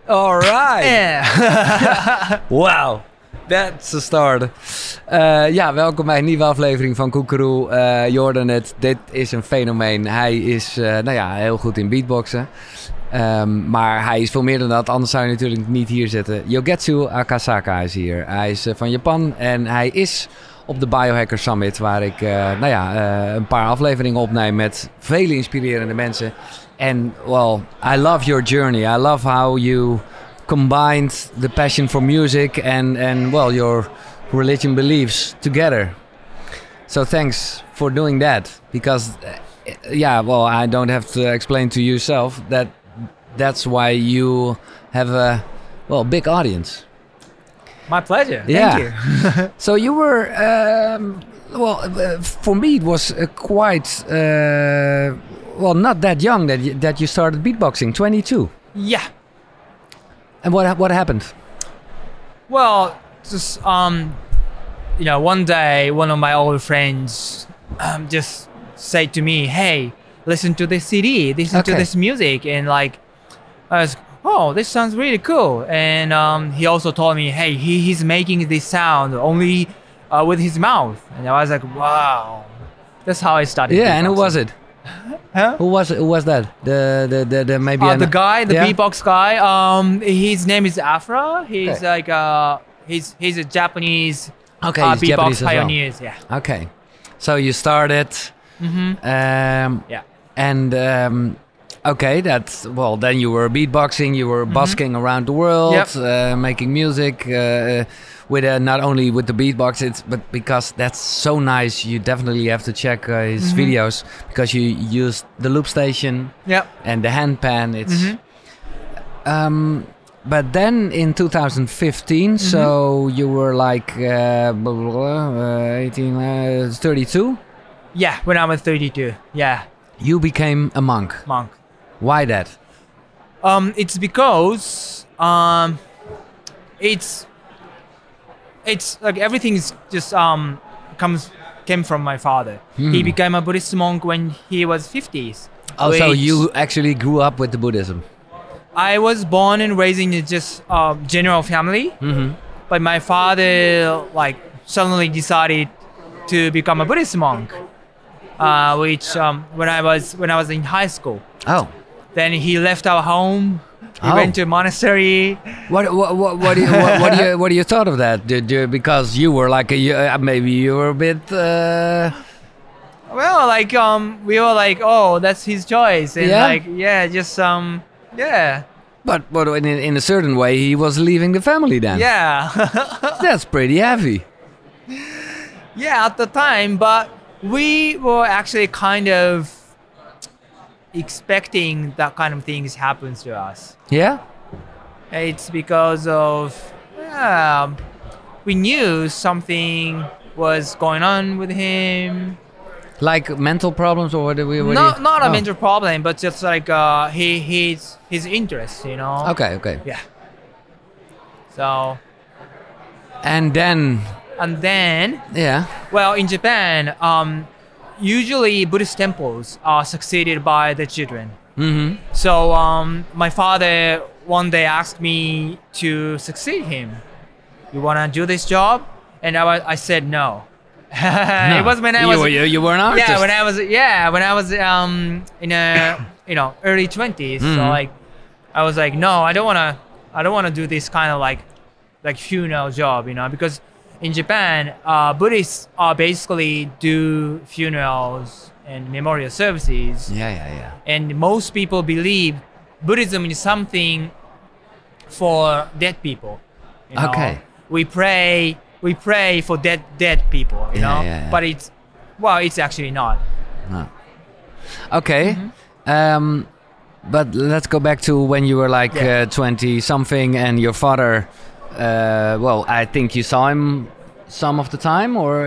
All right. Yeah. Wow. That's a start. Ja, welkom bij een nieuwe aflevering van Koekeroe. Je hoorde het, dit is een fenomeen. Hij is heel goed in beatboxen. Maar hij is veel meer dan dat, anders zou je natuurlijk niet hier zitten. Yogetsu Akasaka is hier. Hij is van Japan en hij is op de Biohacker Summit, waar ik een paar afleveringen opneem met vele inspirerende mensen. En, well, I love your journey. I love how you combined the passion for music and your religion beliefs together. So thanks for doing that, because I don't have to explain to yourself that's why you have a big audience. My pleasure. Yeah. Thank you. So you were for me it was quite not that young that you started beatboxing, 22. Yeah. And what happened? Well, just one day, one of my old friends just said to me, "Hey, listen to this CD, listen to this music," and I was, "Oh, this sounds really cool." And he also told me, "Hey, he's making this sound only with his mouth," and I was like, "Wow." That's how I started. Yeah, and who was it? Huh? Who was that? The maybe the guy, the yeah? beatbox guy. His name is Afra. He's he's a Japanese Okay, he's beatbox Japanese as well. pioneers. Yeah. Okay, so you started. Mm-hmm. Yeah. And then you were beatboxing. You were busking around the world, making music. With not only with the beatbox, but because that's so nice, you definitely have to check his videos, because you use the loop station and the handpan. It's but then in 2015, so you were like 32. Yeah, when I was 32. Yeah. You became a monk. Why that? It's because it's like everything is just came from my father. He became a Buddhist monk when he was 50s. Oh, so you actually grew up with the Buddhism? I was born and raised in just general family, but my father suddenly decided to become a Buddhist monk, which when I was in high school. Oh. Then he left our home. He went to a monastery. What do you thought of that? Because you were maybe you were a bit. Well, we were like, oh, that's his choice, and But in a certain way, he was leaving the family then. Yeah. That's pretty heavy. Yeah, at the time, but we were actually kind of expecting that kind of things happens to us. Yeah? It's because of we knew something was going on with him. Like mental problems, or Not a mental problem, but just his interest, you know. Okay. Yeah. So. And then. Yeah. Well, in Japan, usually Buddhist temples are succeeded by the children. Mm-hmm. So my father one day asked me to succeed him. You wanna do this job? And I said no. No. It was when I was. You were an artist. Yeah, when I was in early 20s. So I was like, no, I don't wanna do this kind of like funeral job, you know, because in Japan, Buddhists basically do funerals and memorial services. Yeah. And most people believe Buddhism is something for dead people. You know? Okay. We pray for dead people, you know? Yeah. But it's actually not. No. Okay. But let's go back to when you were 20 something, and your father. I think you saw him some of the time, or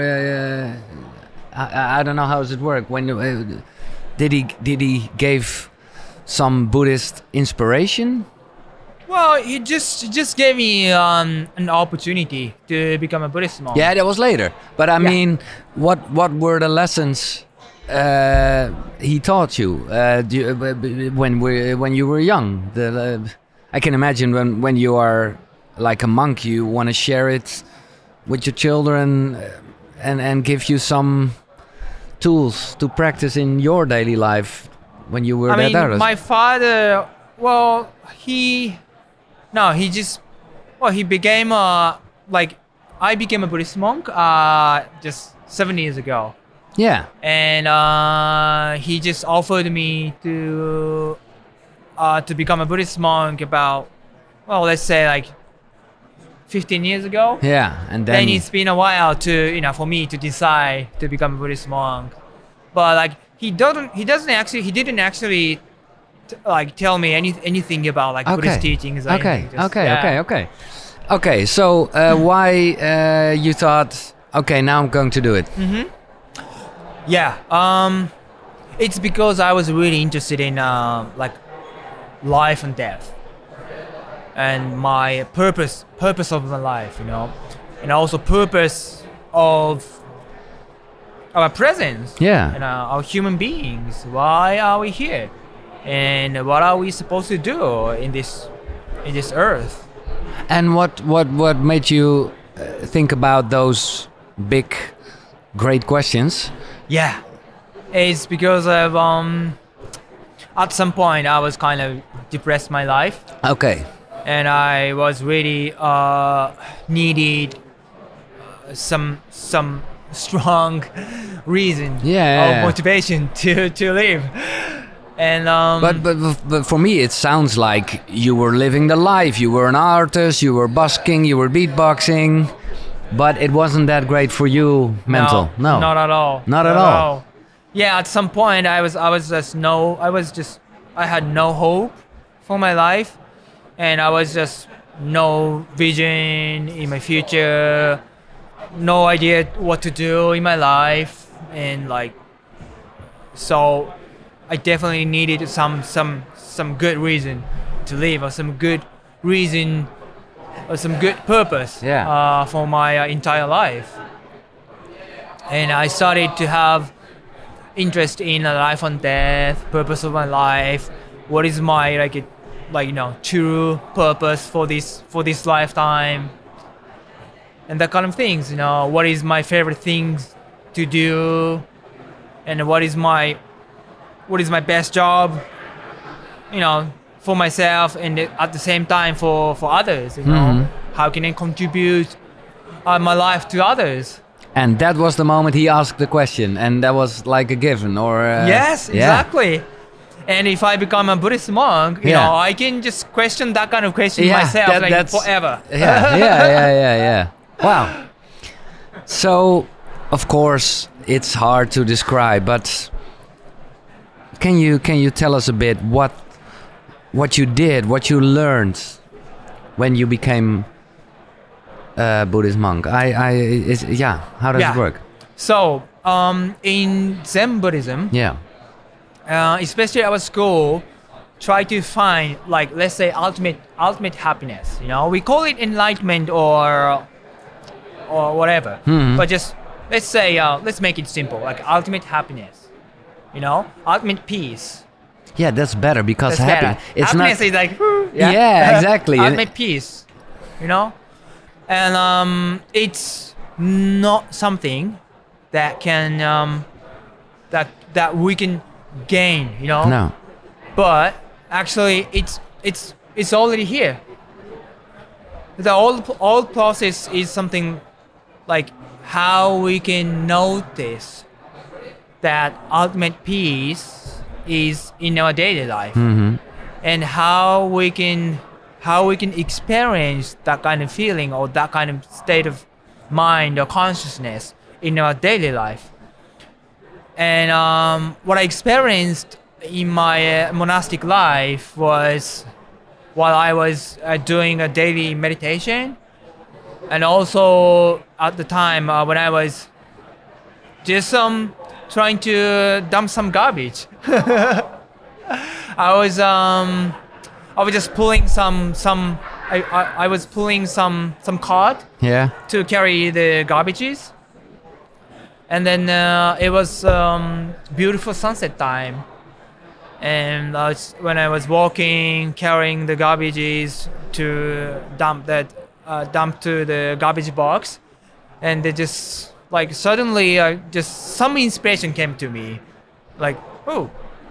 I don't know how does it work. When did he give some Buddhist inspiration? Well, he just gave me an opportunity to become a Buddhist monk. Yeah, that was later. But I mean, what were the lessons he taught you when you were young? I can imagine when you are like a monk, you want to share it with your children and give you some tools to practice in your daily life when you were I mean, others. my father, well, he became I became a Buddhist monk just 7 years ago. Yeah. And he just offered me to become a Buddhist monk about, well, let's say like 15 years ago. Yeah, and Then it's been a while for me to decide to become a Buddhist monk. But like he didn't actually tell me anything about like Buddhist teachings. Okay. So why you thought, okay, now I'm going to do it? Mm-hmm. Yeah. It's because I was really interested in like life and death, and my purpose of my life, and also purpose of our presence. Yeah. And our human beings. Why are we here? And what are we supposed to do in this earth? And what made you think about those big, great questions? Yeah, it's because of at some point I was kind of depressed my life. Okay. And I was really needed some strong reason of motivation to live. And but for me it sounds like you were living the life. You were an artist, you were busking, you were beatboxing, but it wasn't that great for you mental. No. Not at all. Not at all. Yeah, at some point I had no hope for my life, and I was just no vision in my future, no idea what to do in my life, and so I definitely needed some good reason to live, or some good reason, or some good purpose for my entire life. And I started to have interest in life and death, purpose of my life. What is my true purpose for this lifetime, and that kind of things. What is my favorite things to do, and what is my best job, for myself, and at the same time for others. How can I contribute my life to others? And that was the moment he asked the question, and that was like a given, or yes, exactly. And if I become a Buddhist monk, I can just question that kind of question myself, that's forever. Yeah. Wow. So, of course, it's hard to describe, but can you tell us a bit what you did, what you learned when you became a Buddhist monk? How does it work? So, in Zen Buddhism, especially our school, try to find, let's say, ultimate happiness. We call it enlightenment or whatever. Mm-hmm. But just let's say, let's make it simple, like ultimate happiness. Ultimate peace. Yeah, that's better because it's happiness is like exactly. Ultimate peace. And it's not something that can that we can gain, No. But actually it's already here. The whole process is something like how we can notice that ultimate peace is in our daily life, and how we can experience that kind of feeling or that kind of state of mind or consciousness in our daily life. And what I experienced in my monastic life was while I was doing a daily meditation, and also at the time when I was just trying to dump some garbage. I was just pulling I was pulling some cart to carry the garbages. And then it was beautiful sunset time, And when I was walking, carrying the garbages to dump to the garbage box, and they just like suddenly, just some inspiration came to me, like, oh,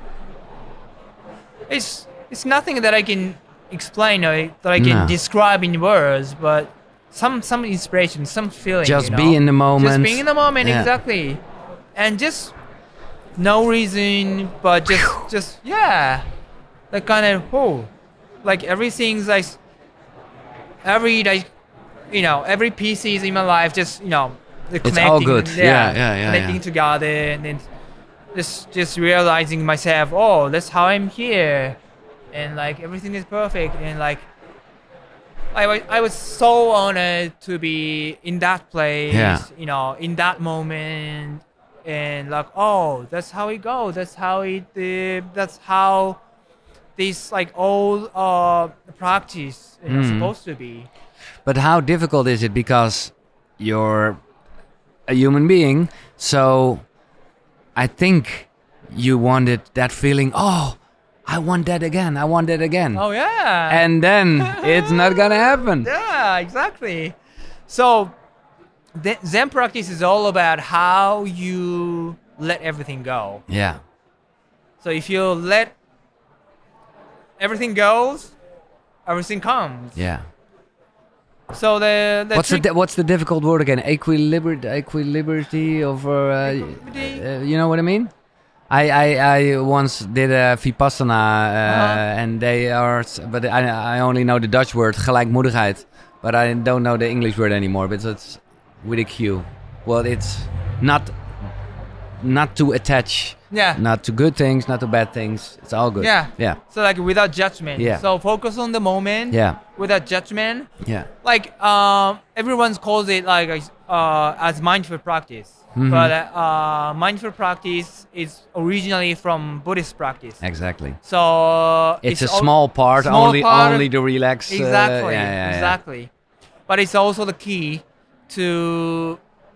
it's nothing that I can explain or that I can No. describe in words, but some inspiration, some feeling. Just you be know? in the moment. Just being in the moment, Yeah. exactly, and just no reason, but just yeah, like kind of like everything's like every pieces in my life, just the It's all connecting, good. Yeah. connecting together, and then just realizing myself, oh, that's how I'm here, and like everything is perfect, and like I was so honored to be in that place, Yeah. in that moment, and like, oh, that's how it goes. That's how this like old practice supposed to be. But how difficult is it, because you're a human being, so I think you wanted that feeling, oh, I want that again, I want that again. Oh yeah. And then it's not gonna happen. Yeah, exactly. So Zen practice is all about how you let everything go. Yeah. So if you let everything goes, everything comes. Yeah. So the trick, What's the difficult word again? Equilibrity over Equilibrity? you know what I mean? I once did a Vipassana and they are, but I only know the Dutch word gelijkmoedigheid, but I don't know the English word anymore. But it's with a Q. Well, it's not to attach, yeah. not to good things, not to bad things. It's all good. Yeah. Yeah. So like without judgment. Yeah. So focus on the moment. Yeah. Without judgment. Yeah. Like everyone calls it like as mindful practice, Mhm. but mindful practice is originally from Buddhist practice. Exactly. So It's a al- small part, small only part only to relax. Exactly. Yeah. Exactly. But it's also the key to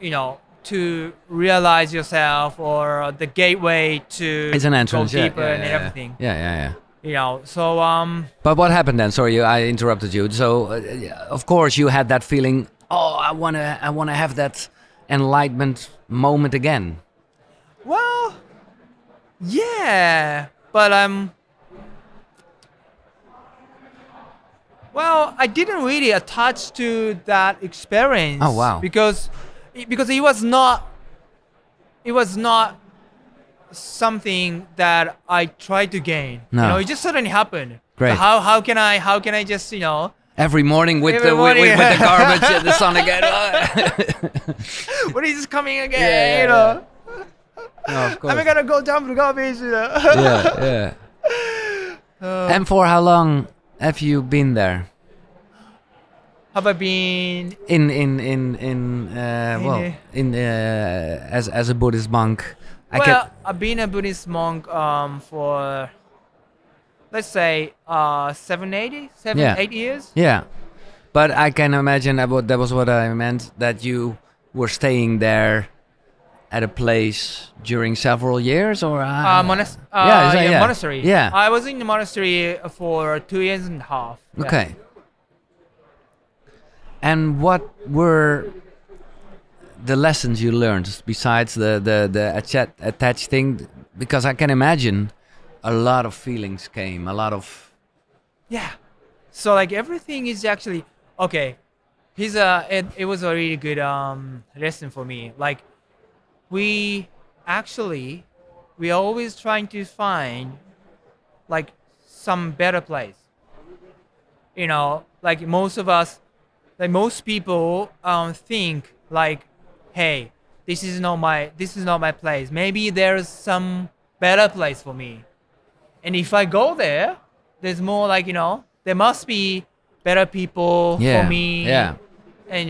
to realize yourself, or the gateway to It's an entrance. go Yeah, deeper yeah, and yeah, everything. Yeah. So But what happened then? Sorry, I interrupted you. So, of course, you had that feeling. Oh, I wanna have that enlightenment moment again. well, yeah, but well, I didn't really attach to that experience. Oh, wow. Because it was not something that I tried to gain. No. It just suddenly happened. Great. So how can I just Every morning with Every the morning, with the yeah. garbage and the sun again. when is this coming again? Yeah. No, of course. I'm gonna go dump the garbage. Yeah. And for how long have you been there? Have I been? As a Buddhist monk? I've been a Buddhist monk for, let's say, 8 years. Yeah, but I can imagine that was what I meant, that you were staying there at a place during several years, or monastery. Yeah. I was in the monastery for 2.5 years. Yeah. Okay. And what were the lessons you learned besides the attached thing? Because I can imagine a lot of feelings came, a lot of. Yeah. So like everything is actually okay. It was a really good lesson for me. Like we always trying to find like some better place. Like most people think like, hey, this is not my place. Maybe there's some better place for me. And if I go there, there's more like, there must be better people for me. Yeah. And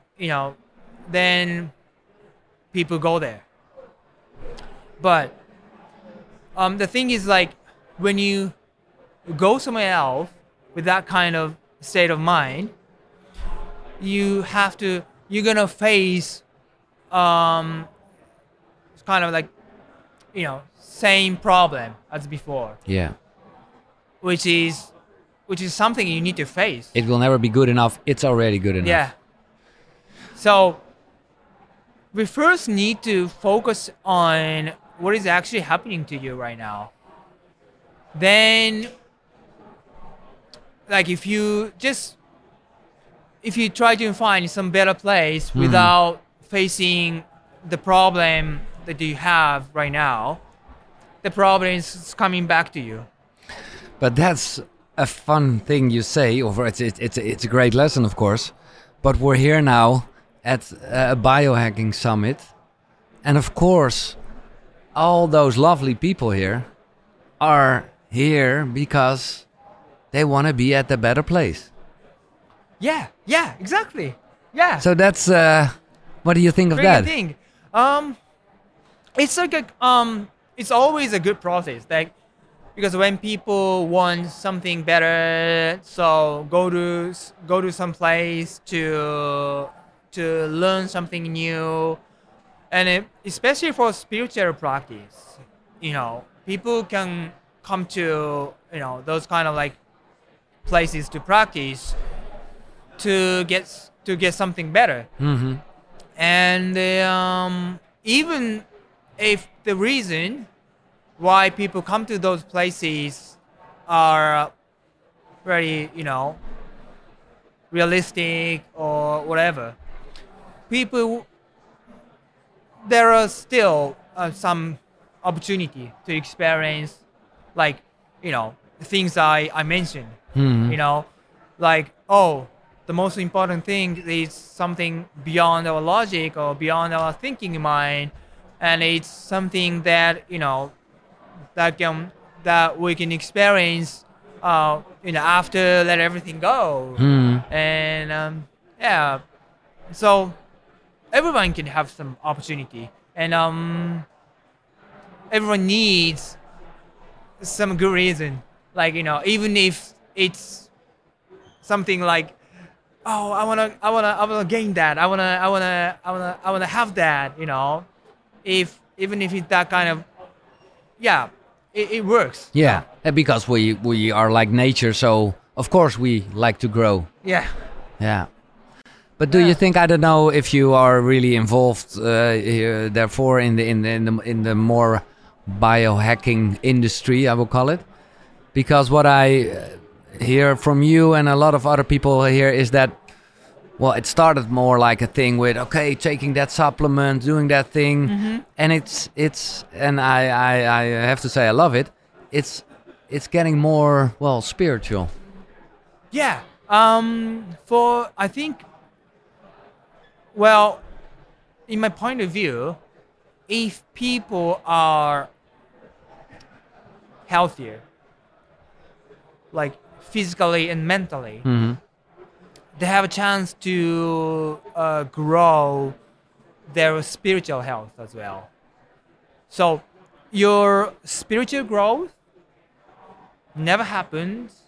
then people go there. But the thing is, like, when you go somewhere else with that kind of state of mind, you're gonna face kind of like same problem as before, Yeah. which is something you need to face. It will never be good enough. It's already good enough. Yeah. So we first need to focus on what is actually happening to you right now. Then, like if you try to find some better place without facing the problem that you have right now, the problem is coming back to you. But that's a fun thing you say, or it's a great lesson, of course. But we're here now at a biohacking summit, and of course, all those lovely people here are here because they want to be at a better place. Yeah, exactly. Yeah. So that's what do you think of Very that? good thing. It's like it's always a good process. Like because when people want something better, so go to some place to learn something new, and especially for spiritual practice, people can come to those kind of like places to practice to get something better. Mm-hmm. And even if the reason why people come to those places are very, realistic or whatever, there are still some opportunity to experience, like, things I mentioned, Mm-hmm. like, the most important thing is something beyond our logic or beyond our thinking mind, and it's something that that we can experience after let everything go. Mm-hmm. And yeah, so everyone can have some opportunity, and everyone needs some good reason, like even if it's something like, I wanna gain that. I wanna have that. Even if it's that kind of, yeah, it works. Yeah, and because we are like nature, so of course we like to grow. Yeah. Yeah. But do you think, I don't know if you are really involved here, therefore in the more biohacking industry, I will call it, because what I hear from you and a lot of other people here is that, well, it started more like a thing with, okay, taking that supplement, doing that thing, and it's and I have to say I love it. It's getting more, well, spiritual. Yeah. For I think, well, in my point of view, if people are healthier, like physically and mentally, Mm-hmm. they have a chance to grow their spiritual health as well. So your spiritual growth never happens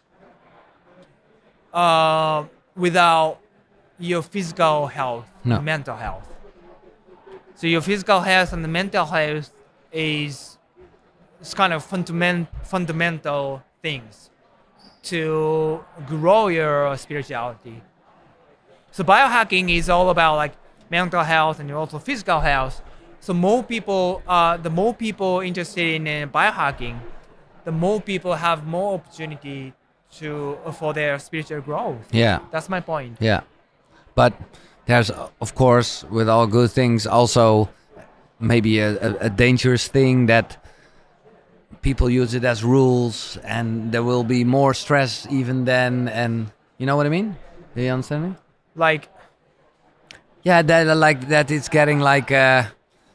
without your physical health, No. mental health. So your physical health and the mental health is kind of fundamental things to grow your spirituality. So biohacking is all about like mental health and also physical health. So the more people interested in biohacking, the more people have more opportunity for their spiritual growth. Yeah. That's my point. Yeah. But there's, of course, with all good things, also maybe a dangerous thing that people use it as rules, and there will be more stress even then. And you know what I mean? Do you understand me? Like, Yeah, that like that. It's getting like a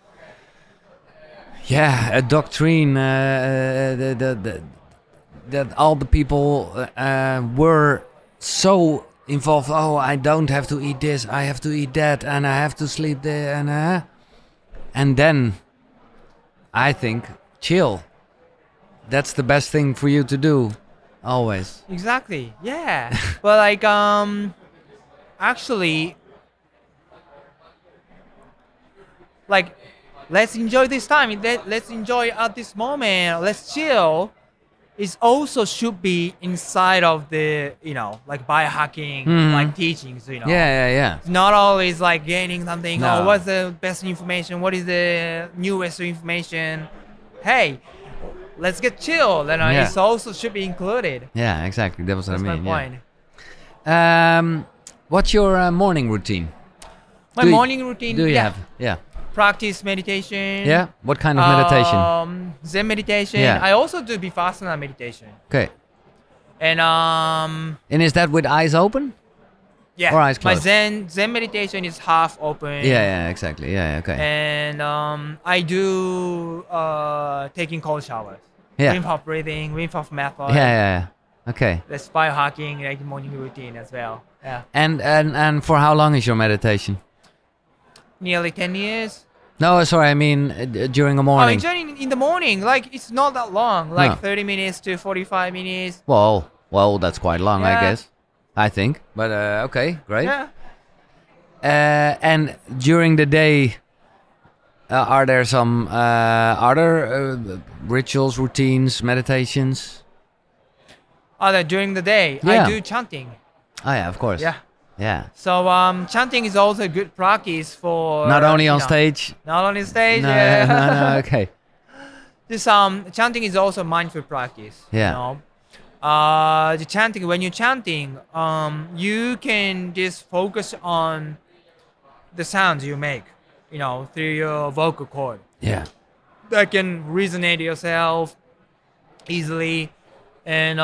doctrine. That all the people were so involved. Oh, I don't have to eat this. I have to eat that, and I have to sleep there, and then I think chill. That's the best thing for you to do, always. exactly. Yeah. But like, actually, like, let's enjoy this time. Let's enjoy at this moment. Let's chill. It also should be inside of the, like biohacking, like teachings, Yeah. It's not always like gaining something. No. Oh, what's the best information? What is the newest information? Hey, let's get chill. Yeah. It also should be included. Yeah, exactly. That was what That's I mean. my point. Yeah. What's your morning routine? My morning routine. Do you have? Yeah. Practice meditation. Yeah. What kind of meditation? Zen meditation. Yeah. I also do Vipassana meditation. Okay. And And is that with eyes open? yeah. Or eyes My closed? Zen meditation is half open. Yeah, exactly. Yeah, okay. And I do taking cold showers. Yeah. Wim Hof breathing, Wim Hof method. Yeah. Okay. That's biohacking, like morning routine as well. Yeah. And for how long is your meditation? Nearly 10 years. No, sorry, I mean during the Oh, morning. actually in the morning, like it's not that long, like No. 30 minutes to 45 minutes. Well, that's quite long, I Yeah. guess. I think. But okay, great. Yeah. And during the day, are there some other rituals, routines, meditations? During the day, Yeah. I do chanting. Oh yeah, of course. Yeah. Yeah. So chanting is also a good practice for Not only on you know, stage. Not on stage. No, Yeah. no, okay. This chanting is also mindful practice. Yeah. You know? The chanting, when you're chanting, you can just focus on the sounds you make, through your vocal cord. Yeah. That can resonate yourself easily. And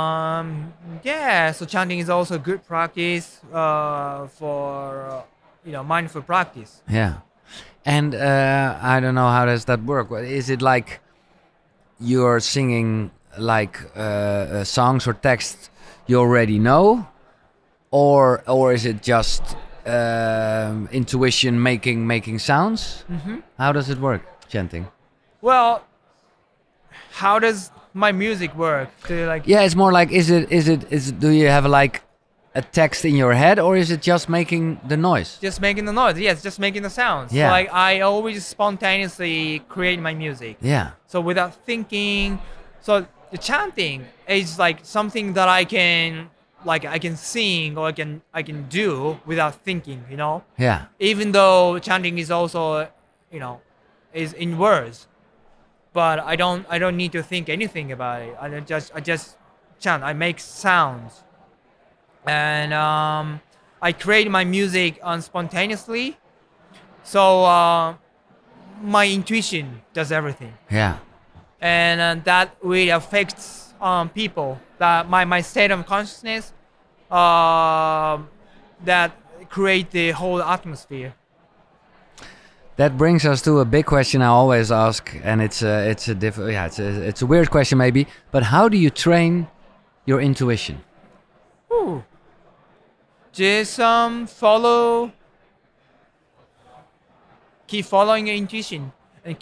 so chanting is also good practice for mindful practice. Yeah. And I don't know how does that work. Is it like you're singing like songs or texts you already know, or is it just intuition making sounds? Mm-hmm. How does it work, chanting? Well, how does my music work? Do you like? Yeah, it's more like is it do you have like a text in your head, or is it just making the noise? Just making the noise. Yes, just making the sounds. Yeah. Like I always spontaneously create my music. Yeah. So without thinking. So the chanting is like something that I can sing or I can do without thinking, Yeah. Even though chanting is also, is in words. But I don't need to think anything about it. I just chant. I make sounds. And I create my music spontaneously. So my intuition does everything. Yeah. And that really affects people. That my state of consciousness that create the whole atmosphere. That brings us to a big question I always ask, and it's a weird question maybe, but how do you train your intuition? Ooh. Just keep following your intuition, and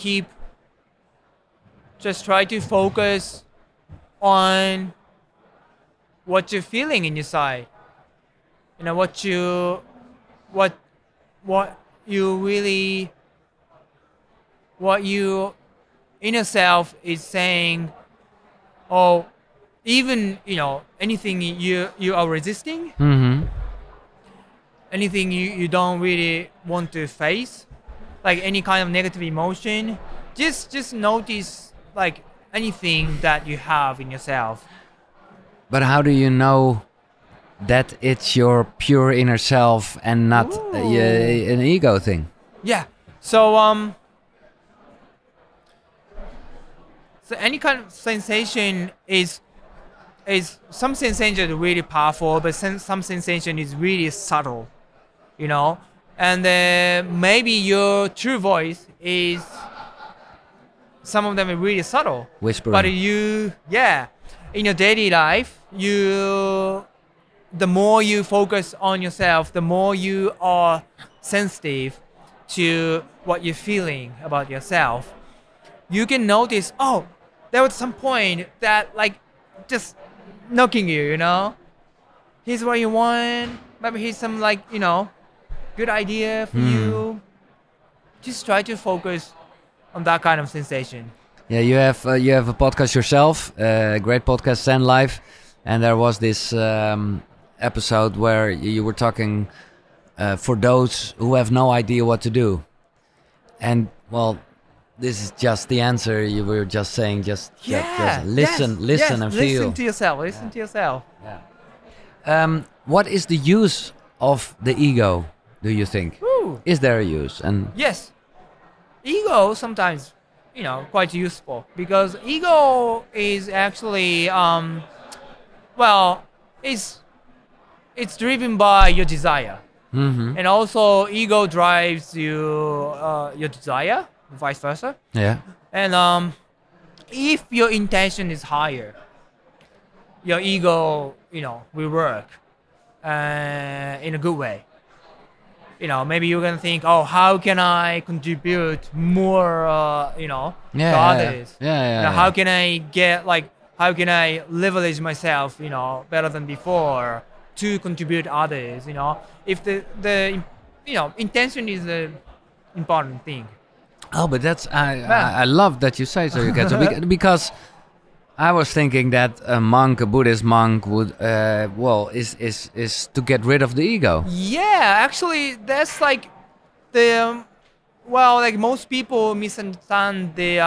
just try to focus on what you're feeling in your side. What your inner self is saying, or even anything you are resisting, Mm-hmm. anything you don't really want to face, like any kind of negative emotion. Just notice like anything that you have in yourself. But how do you know that it's your pure inner self and not an ego thing? Yeah. So so any kind of sensation is some sensation is really powerful, but some sensation is really subtle, And maybe your true voice is, some of them are really subtle. Whispering. But in your daily life, the more you focus on yourself, the more you are sensitive to what you're feeling about yourself. You can notice, there was some point that like just knocking you, Here's what you want. Maybe here's some good idea for you. Just try to focus on that kind of sensation. Yeah, you have a podcast yourself, great podcast, Zen Life, and there was this episode where you were talking for those who have no idea what to do, and well, this is just the answer. You were just saying, just listen, listen, and feel. Listen to yourself. Listen to yourself. Yeah. What is the use of the ego? Do you think? Ooh. Is there a use? And Yes, ego sometimes, quite useful because ego is actually, well, it's driven by your desire, and also ego drives your desire, vice versa. yeah, And if your intention is higher, your ego, will work in a good way. Maybe you're gonna think, oh, how can I contribute more, to others? How can I how can I leverage myself, better than before to contribute to others? If the intention is the important thing. Oh, but that's I love that you say so. You get so because I was thinking that a monk, a Buddhist monk, would is to get rid of the ego. Yeah, actually, that's like the most people misunderstand the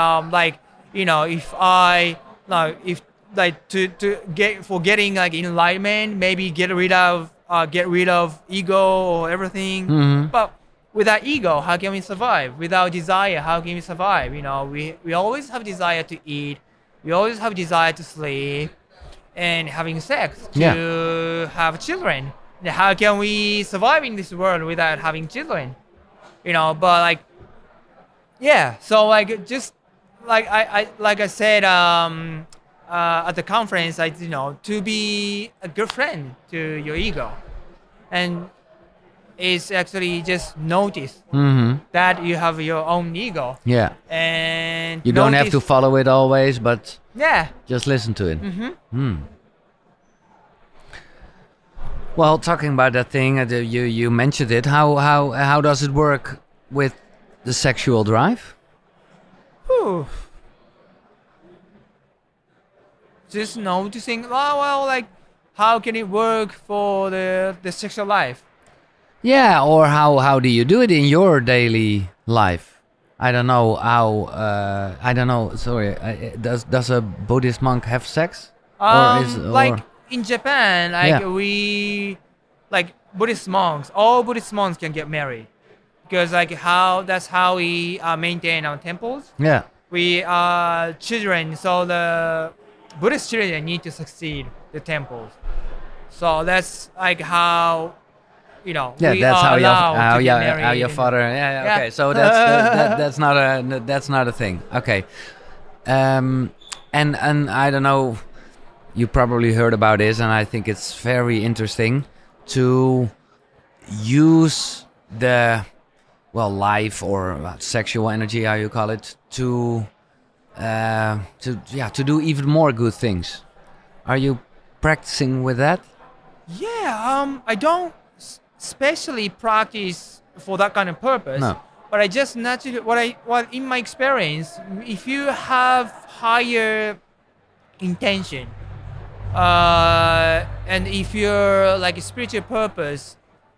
if getting like enlightenment, maybe get rid of ego or everything. But without ego, how can we survive? Without desire, how can we survive? We always have desire to eat. We always have desire to sleep and having sex, to have children. And how can we survive in this world without having children? But so just like I said at the conference, to be a good friend to your ego, and it's actually just notice that you have your own ego. Yeah. And you don't have to follow it always, but yeah, just listen to it. Well, talking about that thing, you mentioned it. How does it work with the sexual drive? Whew. Just noticing. How can it work for the sexual life? Yeah, or how do you do it in your daily life? I don't know how. I don't know. Sorry. Does a Buddhist monk have sex? In Japan, we Buddhist monks. All Buddhist monks can get married because that's how we maintain our temples. Yeah. We are children, so the Buddhist children need to succeed the temples. So that's how. That's how your father. Yeah. Okay, so that's not a thing. Okay, and I don't know. You probably heard about this, and I think it's very interesting to use the life or sexual energy, how you call it, to do even more good things. Are you practicing with that? Yeah. I don't specially practice for that kind of purpose. No. But I just naturally what in my experience, if you have higher intention, and if you're like a spiritual purpose,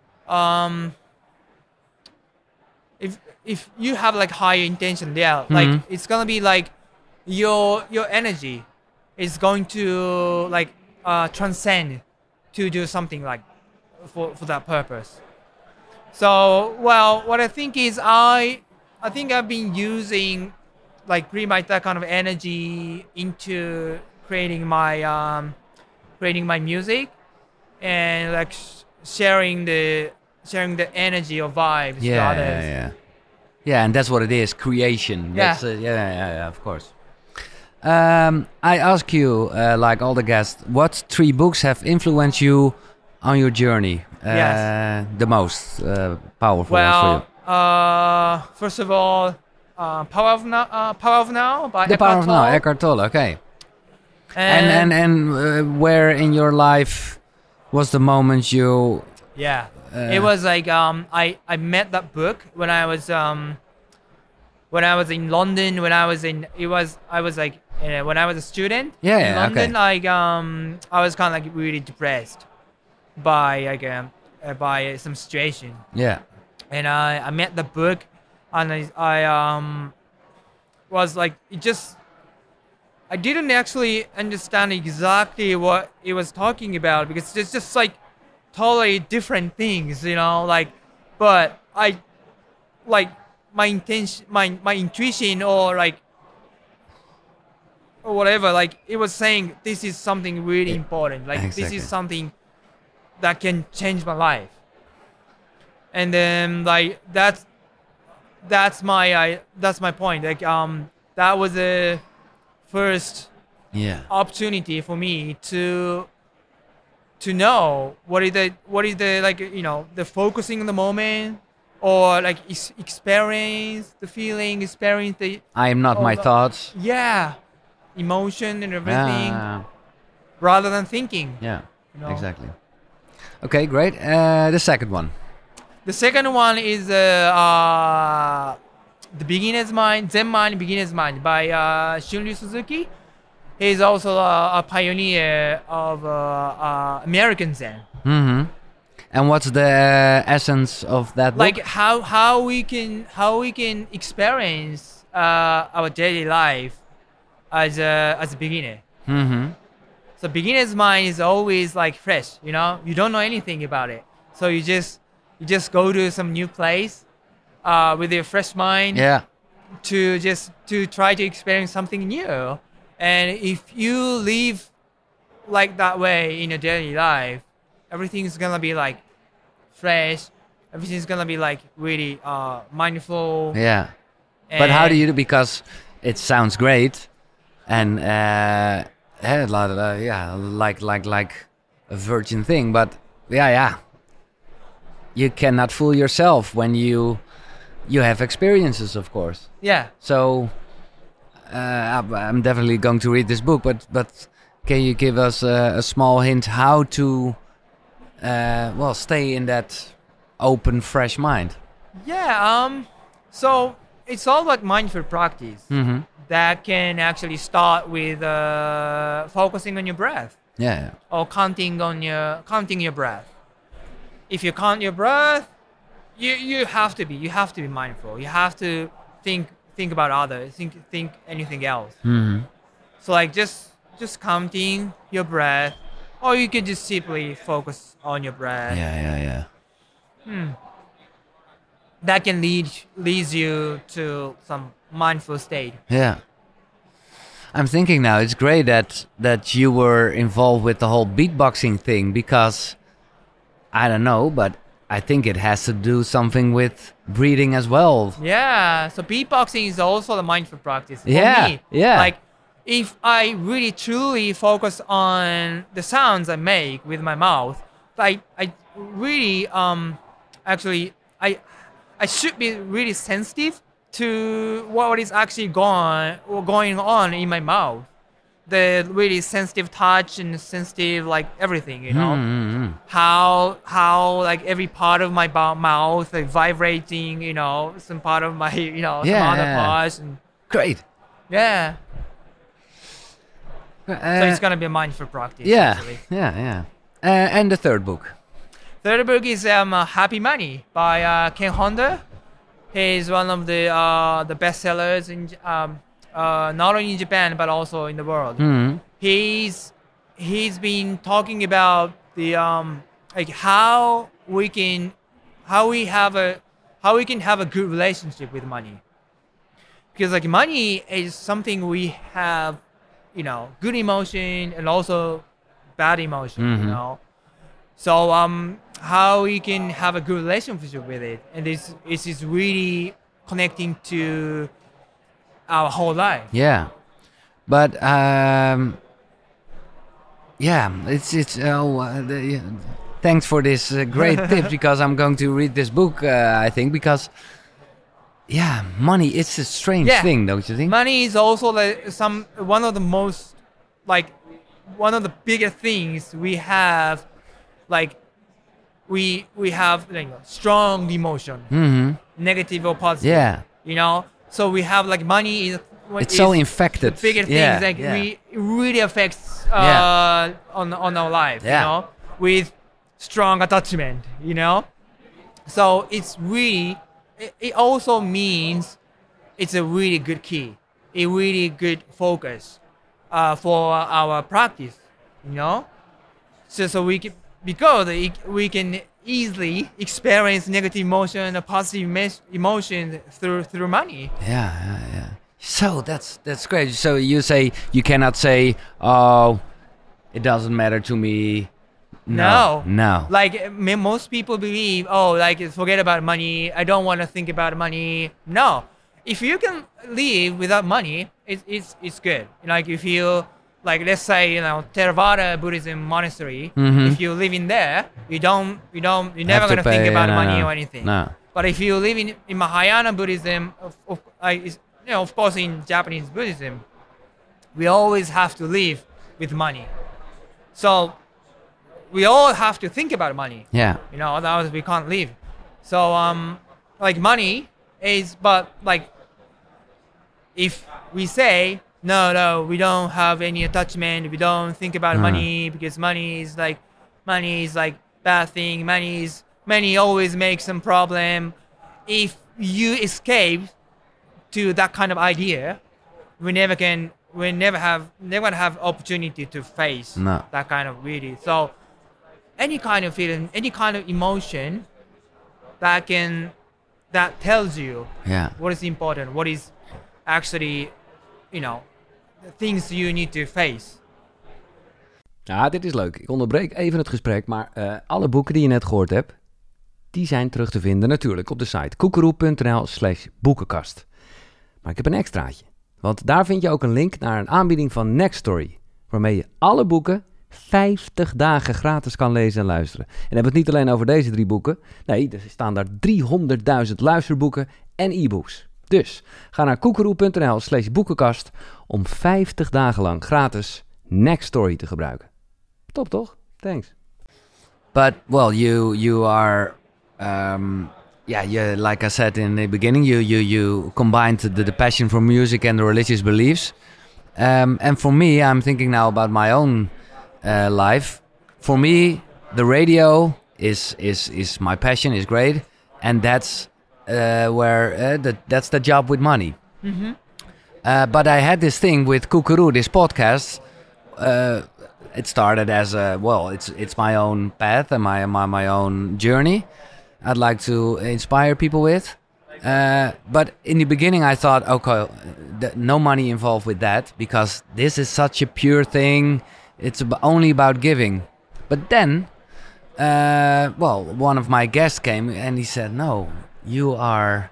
if you have like higher intention, it's gonna be like your energy is going to transcend to do something for that purpose. So, what I think is I think I've been using pretty much that kind of energy into creating my music and sharing the energy or vibes to others. Yeah, and that's what it is, creation. Yeah. That's, of course. I ask you, like all the guests, what 3 books have influenced you on your journey? The most powerful ones for you? First of all, Power of Now by The Eckhart Power of Now, Tolle. Eckhart Tolle. Okay. And where in your life was the moment you? Yeah, it was I met that book when I was when I was in London, when I was in, I was like, when I was a student Yeah, in yeah, London, okay. like, I was kind of like really depressed by like, by some situation. Yeah. And I met the book, and I was like, it just, I didn't actually understand exactly what it was talking about, because it's just like totally different things, like, but I, like, my intention, my intuition, or like, or whatever, like, it was saying this is something really important, like this Exactly. is something that can change my life. And then like that's my point, like, that was the first Yeah. opportunity for me to know what is the like, the focusing on the moment, or like experience the feeling, experience the, I am not all my the- thoughts. yeah, emotion and everything, Yeah. rather than thinking. Yeah. know. Exactly. Okay, great. The second one. The second one is the Beginner's Mind, Zen Mind, Beginner's Mind by Shunryu Suzuki. He's also a pioneer of American Zen. Mm-hmm. And what's the essence of that book? Like how we can experience our daily life as a beginner. Mm-hmm. So beginner's mind is always like fresh, you don't know anything about it. So you just go to some new place with your fresh mind, Yeah. to try to experience something new. And if you live like that way in your daily life, everything's gonna be like fresh. Everything's gonna be like really mindful. Yeah. But how do and- you do? Because it sounds great, and yeah, like a virgin thing. But yeah, you cannot fool yourself when you have experiences, of course. Yeah. So I'm definitely going to read this book. But can you give us a small hint how to stay in that open, fresh mind? Yeah. So it's all about mindful practice Mm-hmm. that can actually start with focusing on your breath, Yeah. or counting your breath. If you count your breath, you have to be mindful. You have to think about others, think anything else. Mm-hmm. So like just counting your breath, or you can just simply focus on your breath. Yeah. That can leads you to some mindful state. Yeah. I'm thinking now it's great that you were involved with the whole beatboxing thing, because I don't know, but I think it has to do something with breathing as well. Yeah, so beatboxing is also the mindful practice for Yeah, me. yeah. Like if I really truly focus on the sounds I make with my mouth, I really actually I should be really sensitive to what is actually going on in my mouth. The really sensitive touch and sensitive like everything, Mm-hmm. how like every part of my mouth like vibrating, some part of my some Yeah, other yeah. parts, and Great. yeah. So Uh, it's gonna be a mindful practice. yeah, Actually. yeah. And the third book. Third book is Happy Money by Ken Honda. He's one of the bestsellers in not only in Japan but also in the world. Mm-hmm. He's been talking about the like how we can have a good relationship with money, because like money is something we have, good emotion and also bad emotion, Mhm. So how we can have a good relationship with it, and this is really connecting to our whole life. Yeah, but yeah, it's yeah. Thanks for this great tip, because I'm going to read this book. I think because yeah, money it's a strange Yeah. thing, don't you think? Money is also one of the most, like, one of the biggest things we have, like we have like strong emotion, Mm-hmm. negative or positive. Yeah. So we have like money is It's so infected. The bigger Yeah, things like yeah. it really affects on our life, Yeah. you know, with strong attachment, you know. So it's really it also means it's a really good key, a really good focus for our practice, you know. So we can, because we can easily experience negative emotion or positive emotion through money. Yeah. So that's great. So you say you cannot say, "Oh, it doesn't matter to me." No. Like most people believe, oh, like forget about money. I don't want to think about money. No, if you can live without money, it's good. Like if you like, let's say Theravada Buddhism monastery. Mhm. If you live in there, you're never to gonna think pay, about no, money no. or anything. No. But if you live in Mahayana Buddhism, of course in Japanese Buddhism, we always have to live with money. So we all have to think about money. Yeah. Otherwise we can't live. So like money is, but like if we say no, we don't have any attachment, we don't think about money because money is like bad thing. Money always makes some problem. If you escape to that kind of idea, we never have opportunity to face No. that kind of really. So any kind of feeling, any kind of emotion that tells you Yeah. what is important, what is actually, things you need to face. Ja, dit is leuk. Ik onderbreek even het gesprek, maar alle boeken die je net gehoord hebt, die zijn terug te vinden natuurlijk op de site koekeroe.nl/boekenkast. Maar ik heb een extraatje, want daar vind je ook een link naar een aanbieding van Nextory, waarmee je alle boeken 50 dagen gratis kan lezen en luisteren. En hebben we het niet alleen over deze 3 boeken. Nee, er staan daar 300.000 luisterboeken en e-books. Dus ga naar koekeroe.nl/boekenkast om 50 dagen lang gratis Nextory te gebruiken. Top toch? Thanks. But well, you are like I said in the beginning, you combined the passion for music and the religious beliefs. And for me, I'm thinking now about my own life. For me, the radio is my passion, is great, and that's that's the job with money. Mm-hmm. But I had this thing with Koekeroe, this podcast. It started as it's my own path and my own journey. I'd like to inspire people with. But in the beginning, I thought, okay, no money involved with that because this is such a pure thing. It's only about giving. But then, one of my guests came and he said, no, you are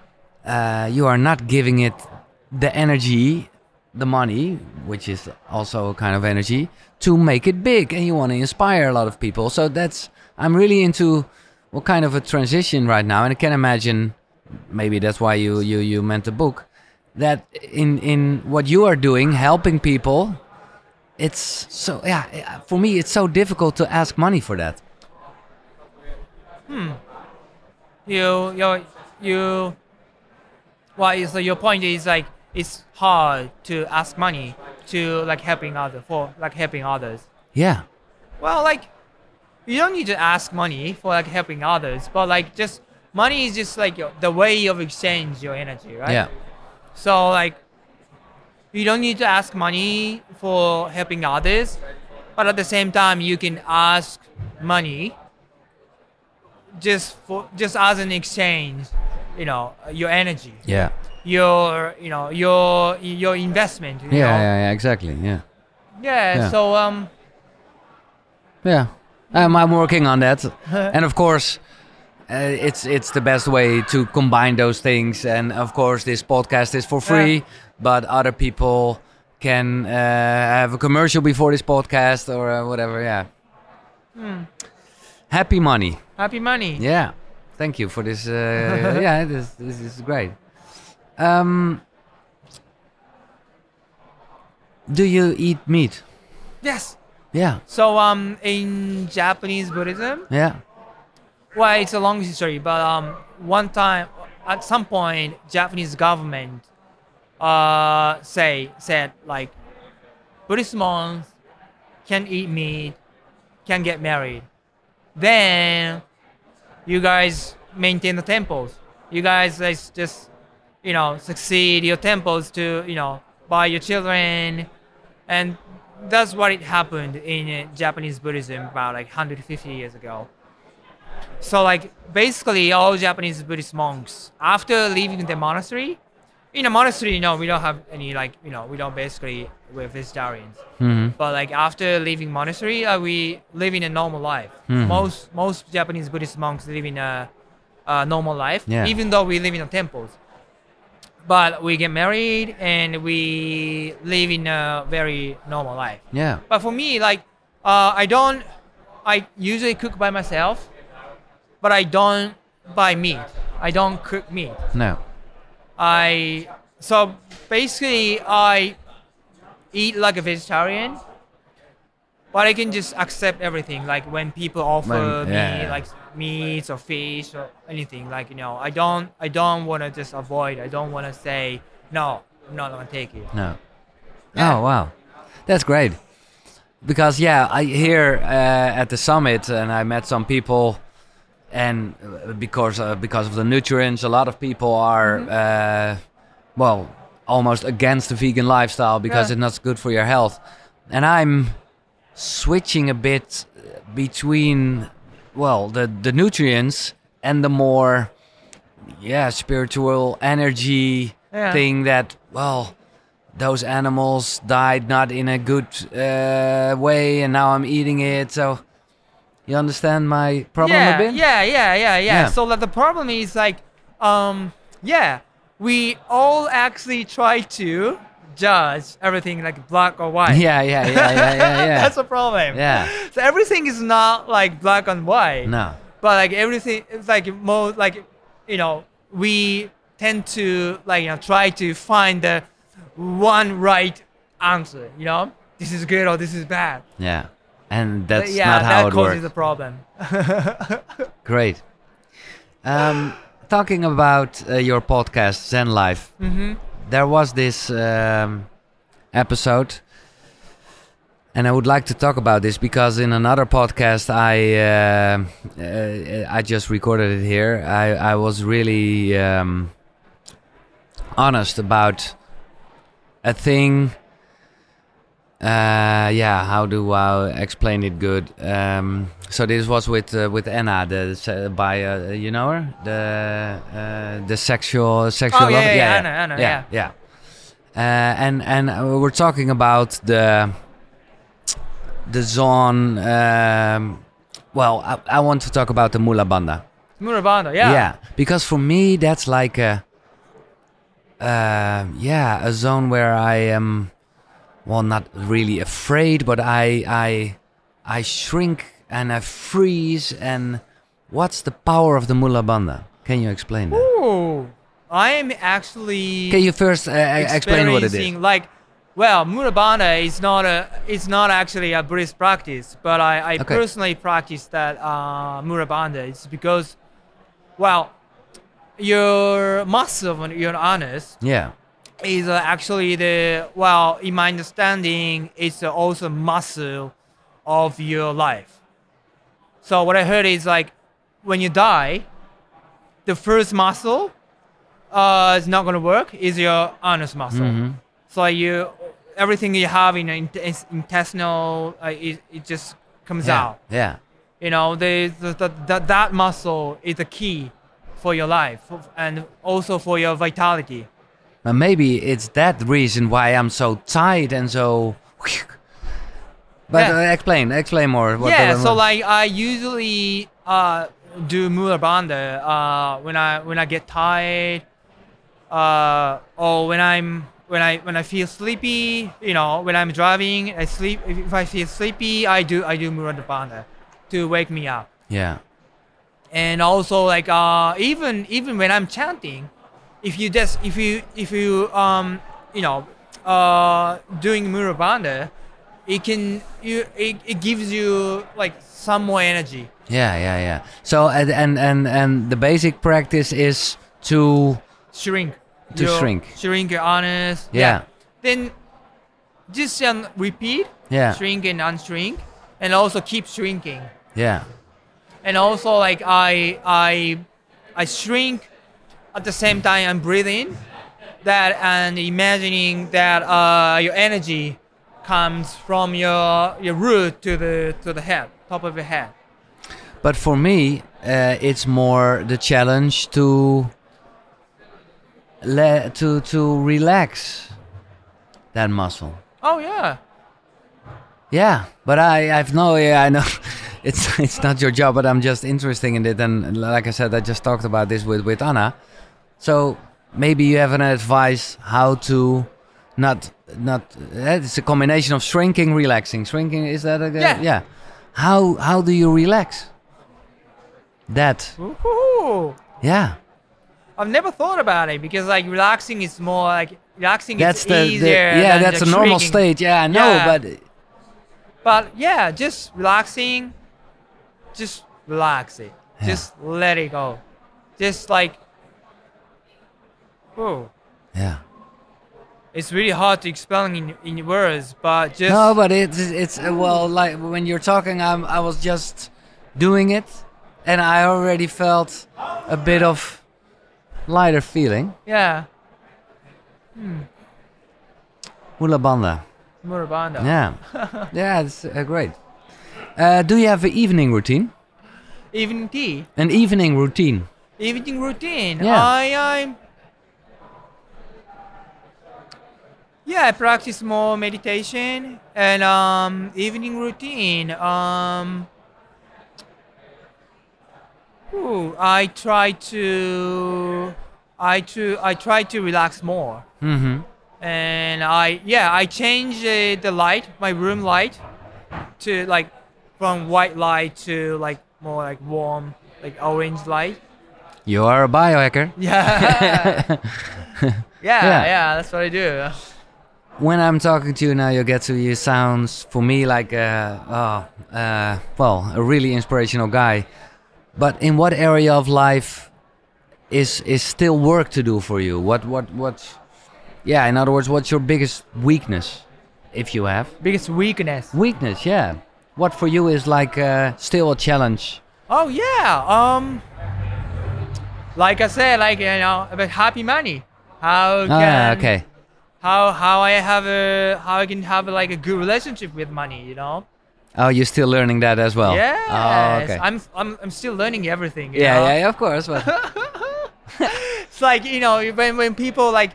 not giving it the energy, the money, which is also a kind of energy, to make it big, and you want to inspire a lot of people. So I'm really into what kind of a transition right now, and I can imagine maybe that's why you meant the book, that in what you are doing, helping people, it's so, for me it's so difficult to ask money for that. So your point is like it's hard to ask money to like helping others. Yeah. Well, like you don't need to ask money for like helping others, but like just money is just like the way of exchange your energy, right? Yeah. So like you don't need to ask money for helping others, but at the same time you can ask money just as an exchange, your energy. Yeah. Your investment. Yeah, exactly. Yeah. Yeah. So yeah, I'm working on that, and of course, it's the best way to combine those things. And of course, this podcast is for free, but other people can have a commercial before this podcast or whatever. Yeah. Happy money. Happy money. Yeah. Thank you for this. This is great. Do you eat meat? Yes. Yeah. So in Japanese Buddhism, Yeah. well, it's a long history, but one time at some point, Japanese government said like Buddhist monks can eat meat, can get married. Then you guys maintain the temples. You guys like, just succeed your temples to by your children, and that's what it happened in Japanese Buddhism about like 150 years ago. So like basically all Japanese Buddhist monks after leaving the monastery, in a monastery, we don't have any we don't basically, we're vegetarians. Mm-hmm. But like after leaving monastery, we live in a normal life. Mm-hmm. Most Japanese Buddhist monks live in a normal life, Yeah. even though we live in the temples. But we get married and we live in a very normal life. Yeah. But for me, like I usually cook by myself, but I don't buy meat. I don't cook meat. No. So basically I eat like a vegetarian, but I can just accept everything. Like when people offer me like meats or fish or anything, like I don't want to just avoid. I don't want to say no, I'm not gonna take it. No. Yeah. Oh wow, that's great. Because I here at the summit, and I met some people, and because of the nutrients, a lot of people are almost against the vegan lifestyle because it's not good for your health. And I'm switching a bit between the nutrients and the more spiritual energy thing that those animals died not in a good way, and now I'm eating it. So you understand my problem a bit? Yeah. So the problem is like, we all actually try to judge everything like black or white. Yeah. That's the problem. Yeah. So everything is not like black and white. No. But like everything, it's like most like, we tend to try to find the one right answer. This is good or this is bad. Yeah. And that's not how it works. That causes a problem. Great. Talking about your podcast, Zen Life, there was this episode, and I would like to talk about this because in another podcast I just recorded it here. I was really honest about a thing. How do I explain it good? So this was with Anna, by you know her, the sexual. Oh yeah, Anna. Yeah. And we're talking about the zone. I want to talk about the Mula Bandha. Mula Bandha, yeah. Yeah, because for me that's like a zone where I am. Well, not really afraid, but I shrink and I freeze. And what's the power of the Mula Bandha? Can you explain that? Ooh, I'm actually. Can you first explain what it is? Mula Bandha is not actually a Buddhist practice, but I personally practice that Mula Bandha. It's because, your muscle of your anus. Yeah. Is actually in my understanding, it's also muscle of your life. So what I heard is like, when you die, the first muscle is not going to work, is your anus muscle. Mm-hmm. So everything you have in intestinal, it just comes out. Yeah. That muscle is the key for your life and also for your vitality. Maybe it's that reason why I'm so tight and so. But explain more. So like I usually do Mula Bandha when I get tired, or when I feel sleepy. When I'm driving, I sleep. If I feel sleepy, I do Mula Bandha to wake me up. Yeah. And also like even when I'm chanting. If you doing Mula Bandha, it gives you like some more energy. Yeah. So and the basic practice is to shrink. shrink. Your anus. Yeah. Then just repeat. Yeah. Shrink and unshrink, and also keep shrinking. Yeah. And also like I shrink at the same time I'm breathing that and imagining that your energy comes from your root to the head, top of your head. But for me, it's more the challenge to relax that muscle. Oh yeah. Yeah, but I've no, yeah, I know it's not your job, but I'm just interested in it. And like I said, I just talked about this with Anna. So maybe you have an advice how to not it's a combination of shrinking, relaxing. Shrinking, is that a good? Yeah. How do you relax? That. Woohoo. Yeah. I've never thought about it because like relaxing is more like relaxing That's is easier. Than that's the a normal shrinking. state. Yeah, I know, Yeah. but But yeah, just relaxing, just relax it. Yeah. Just let it go. Just like, whoa. yeah. It's really hard to explain in words, but just No, but it's well, like when you're talking, I was just doing it, and I already felt a bit of lighter feeling. yeah. Hula banda. Murabanda. Yeah, yeah, it's great. Do you have an evening routine? Evening tea. An evening routine. Evening routine. Yeah. I practice more meditation and evening routine. I try to relax more. Mm-hmm. And I change the light, my room light, to like from white light to like more like warm, like orange light. You are a biohacker. Yeah. Yeah. yeah, that's what I do. When I'm talking to you now, you sounds for me like a really inspirational guy. But in what area of life is still work to do for you? Yeah, in other words, what's your biggest weakness, if you have? Biggest weakness. Weakness, yeah. What for you is like still a challenge? Oh yeah. Like I said, like about happy money. How can Okay. how I can have like a good relationship with money, you know? Oh, you're still learning that as well. Yes. Oh, okay. I'm still learning everything. You Yeah, know? yeah, of course. But It's like when people like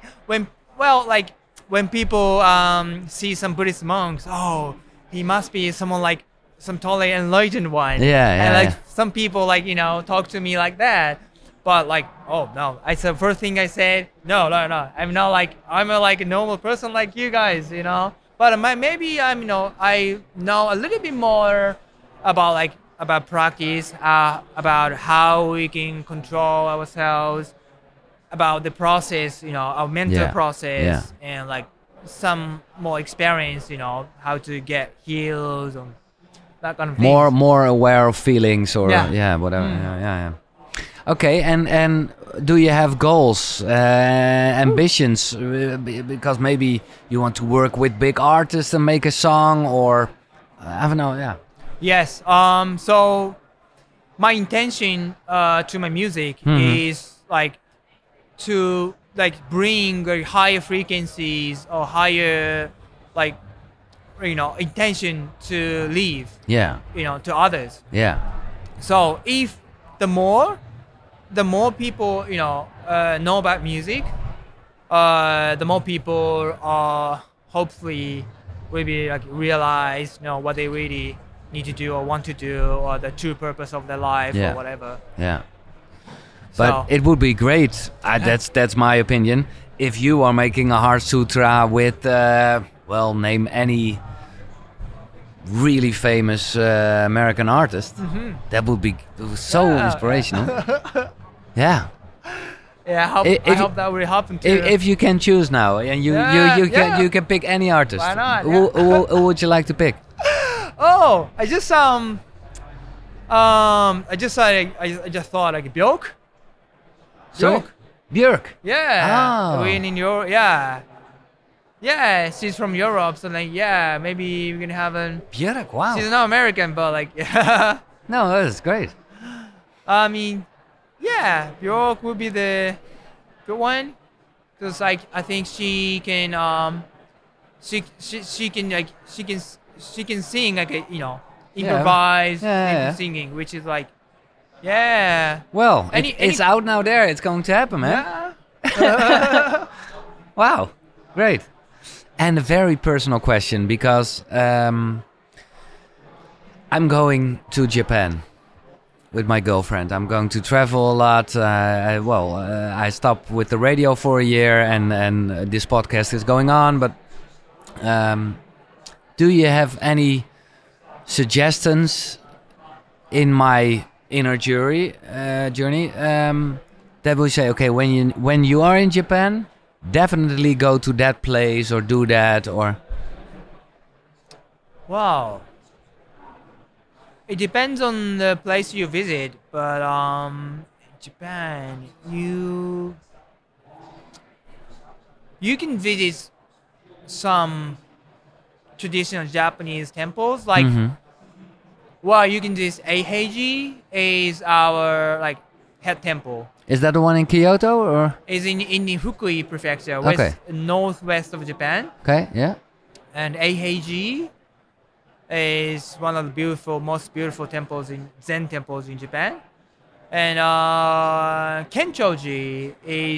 when people see some Buddhist monks, oh, he must be someone like some totally enlightened one. Yeah, And like yeah. some people like talk to me like that, but like oh no, I said first thing I said no, I'm not like I'm a normal person like you guys, you know. But maybe I know a little bit more about practice, about how we can control ourselves, about the process, our mental Yeah, process, yeah. and like some more experience, how to get healed and that kind of thing. more aware of feelings or Yeah. whatever. Yeah. Okay, and do you have goals, ambitions? Because maybe you want to work with big artists and make a song, or I don't know. Yeah. Yes. So my intention to my music is like to bring higher frequencies or higher intention to live Yeah. to others. Yeah. So if the more people know about music, the more people hopefully will be realize what they really need to do or want to do, or the true purpose of their life Yeah. or whatever. Yeah. But So- it would be great. That's my opinion. If you are making a Heart Sutra with, name any really famous American artist, that would be so Yeah. inspirational. Yeah. Yeah, I hope that will happen too. If you can choose now, and you can pick any artist, Why not? who would you like to pick? Oh, I just thought like Björk. Sorry? Björk. Yeah. Oh. We're in Europe. Yeah. Yeah, she's from Europe, so like, yeah, maybe we can have an. Björk, wow. She's not American, but like, yeah. No, that's great. I mean, yeah, Bjork would be the good one, because like I think she can she can like she can sing like a, improvise Yeah. singing, which is like, yeah. Well, Any- it's out now there. It's going to happen, man. Yeah. Wow, great. And a very personal question because I'm going to Japan with my girlfriend. I'm going to travel a lot. I stopped with the radio for a year, and this podcast is going on. But do you have any suggestions in my inner journey that will say, okay, when you are in Japan, definitely go to that place or do that or. Wow. It depends on the place you visit, but Japan, you can visit some traditional Japanese temples, like you can visit Eiheiji is our like head temple. Is that the one in Kyoto or? Is in the Fukui prefecture, Okay. northwest of Japan, Okay, yeah. and Eiheiji is one of the most beautiful temples Zen temples in Japan, and Kenchoji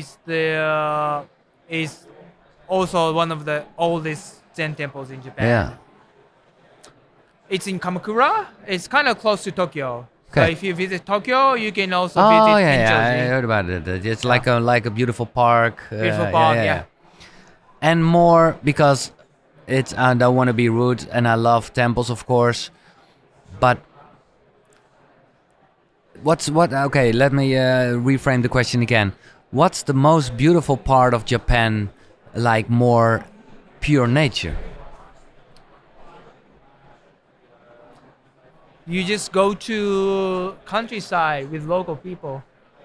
is also one of the oldest Zen temples in Japan. Yeah. It's in Kamakura. It's kind of close to Tokyo. Okay. So if you visit Tokyo, you can also Oh visit yeah, Kenchoji. I heard about it. It's like a beautiful park. Beautiful park, yeah. And more because it's I don't want to be rude, and I love temples, of course. But what? Okay, let me reframe the question again. What's the most beautiful part of Japan? Like more pure nature. You just go to countryside with local people.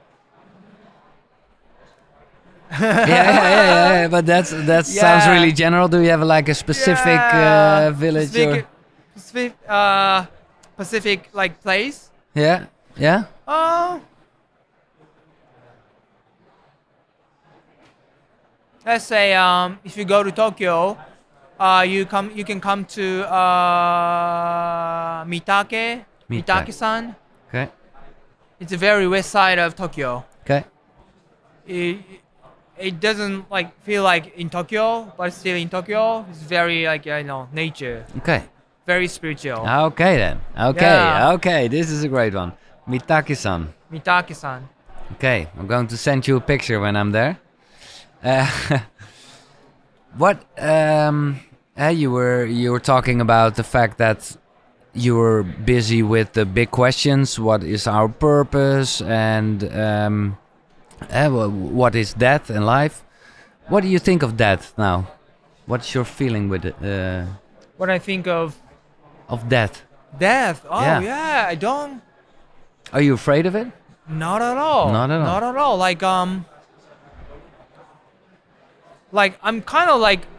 Yeah. But that sounds Yeah. really general. Do you have like a specific village or? Specific like place. Yeah. Let's say if you go to Tokyo, you can come to Mitake-san. Okay. It's the very west side of Tokyo. Okay. It doesn't like feel like in Tokyo, but it's still in Tokyo. It's very like nature, Okay. very spiritual. Okay then. Okay. Yeah. Okay. This is a great one. Mitake-san. Mitake-san. Okay. I'm going to send you a picture when I'm there. What? You were talking about the fact that you were busy with the big questions. What is our purpose? And what is death and life? What do you think of death now? What's your feeling with it? What I think of Death? death. Oh Yeah. yeah, I don't. Are you afraid of it? Not at all. Not at all. Not at all. Like I'm kind of like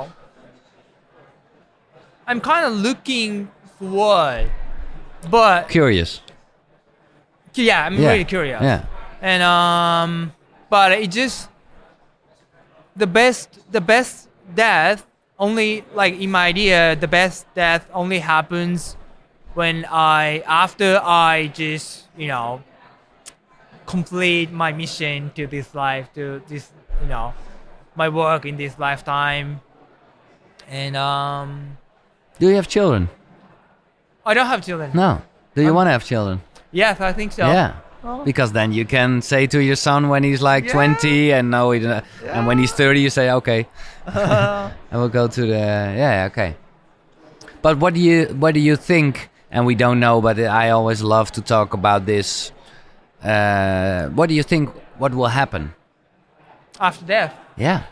I'm kind of looking forward, but Curious. yeah, I'm really curious. Yeah. And but it just the best death only, like in my idea, the best death only happens when after I just complete my mission to this life, to this my work in this lifetime. And Do you have children? I don't have children. No. Do you want to have children? Yes, I think so. Yeah. Oh. Because then you can say to your son when he's like Yeah. 20 and no, and when he's 30, you say, okay, I will go to the, okay. But what do you think? And we don't know, but I always love to talk about this. What do you think? What will happen? After death, Yeah.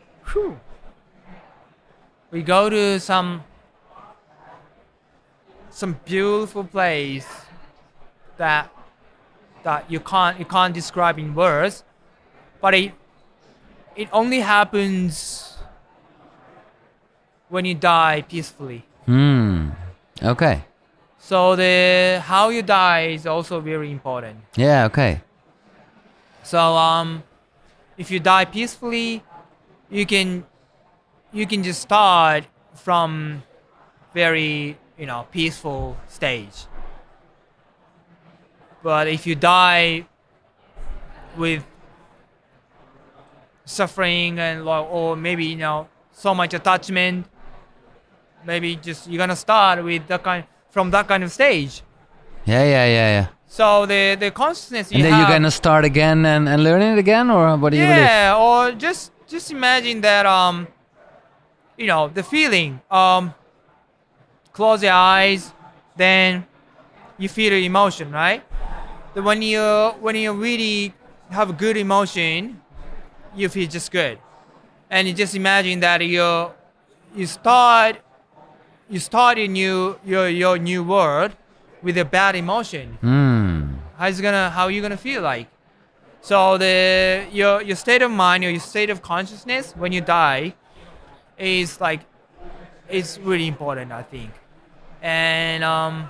we go to some beautiful place that you can't describe in words, but it only happens when you die peacefully. Okay. So the how you die is also very important. Yeah. Okay. So if you die peacefully, you can just start from very peaceful stage. But if you die with suffering and or maybe so much attachment, maybe just you're gonna start with from that kind of stage. Yeah. So the consciousness And then you're gonna start again and learn it again, or what do you believe? Yeah, or just imagine that the feeling. Close your eyes, then you feel the emotion, right? When you really have a good emotion, you feel just good, and you just imagine that you start your new world with a bad emotion. How you gonna feel like? So your state of mind or your state of consciousness when you die is like it's really important, I think. And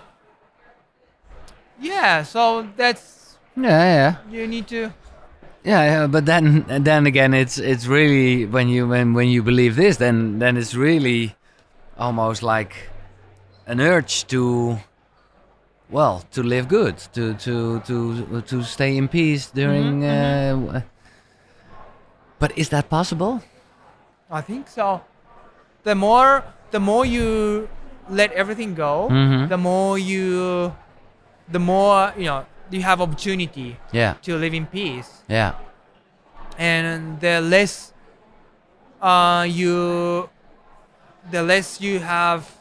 so that's you need to. Yeah, but then again, it's really when you believe this, then it's really almost like an urge to live good, to stay in peace during. But is that possible? I think so. The more you let everything go, the more you have opportunity to live in peace. Yeah. And the less you have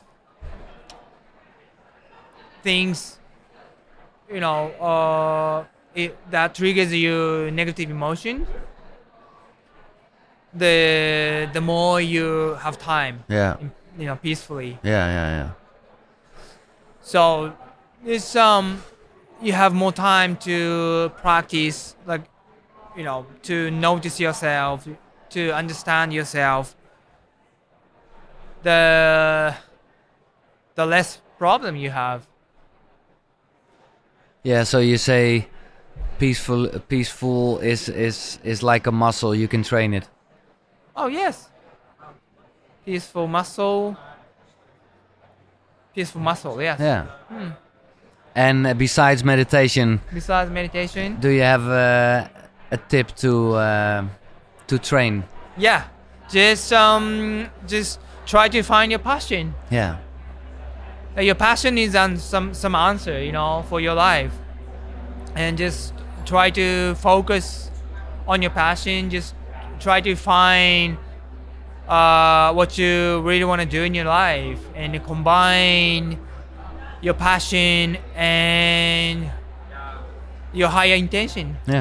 things that triggers your negative emotion, the more you have time peacefully. Yeah. So it's you have more time to practice, like to notice yourself, to understand yourself. The less problem you have. Yeah, so you say peaceful is like a muscle, you can train it. Oh yes. Peaceful muscle, yes. Yeah. And besides meditation, do you have a tip to train? Yeah, just try to find your passion. Yeah. Your passion is on some answer, for your life, and just try to focus on your passion. Just try to find what you really want to do in your life, and combine your passion and your higher intention. Yeah.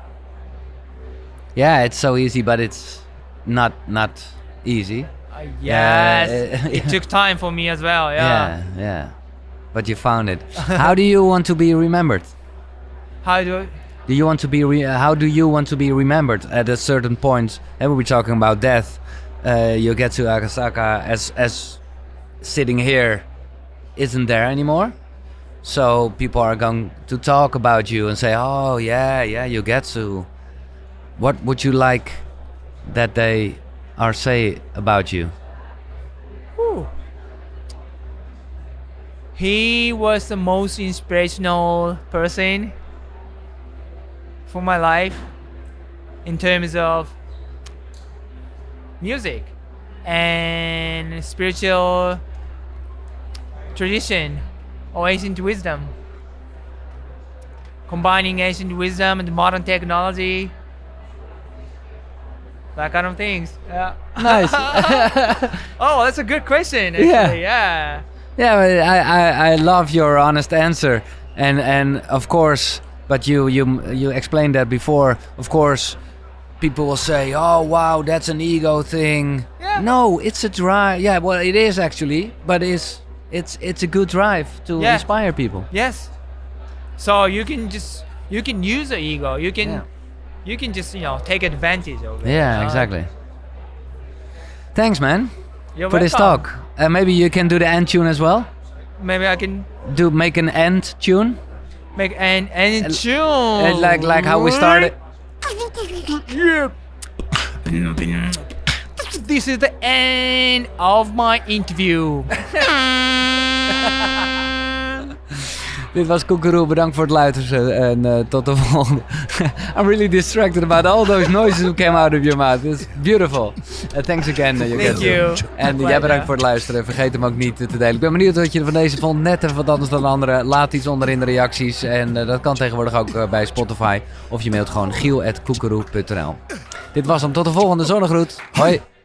Yeah, it's so easy, but it's not easy. Yes, it took time for me as well. Yeah. But you found it. How do you want to be remembered? How do you want to be? How do you want to be remembered at a certain point? And we're talking about death. You get to Akasaka as sitting here isn't there anymore. So people are going to talk about you and say, "Oh yeah, you get to." What would you like that they are say about you? He was the most inspirational person for my life in terms of music and spiritual tradition or ancient wisdom. Combining ancient wisdom and modern technology. That kind of things. Yeah. Nice. Oh, that's a good question. Actually. Yeah. I love your honest answer, and of course, but you explained that before. Of course, people will say, "Oh wow, that's an ego thing." Yeah. No, it's a drive. Yeah, well, it is actually, but it's a good drive to inspire people. Yes. So you can use the ego. You you can just take advantage of it. Yeah, exactly. Thanks, man, You're for this welcome. talk. Maybe you can do the end tune as well. Maybe I can Make an end tune, make an tune. like how we started. Yeah. This is the end of my interview. Dit was Koekeroe, bedankt voor het luisteren en tot de volgende. I'm really distracted about all those noises who came out of your mouth. It's beautiful. Thanks again. Thank you. En jij bedankt voor het luisteren. Vergeet hem ook niet te delen. Ik ben benieuwd wat je van deze vond. Net even wat anders dan de andere. Laat iets onder in de reacties. En dat kan tegenwoordig ook bij Spotify. Of je mailt gewoon giel@koekeroe.nl. Dit was hem. Tot de volgende zonnegroet. Hoi.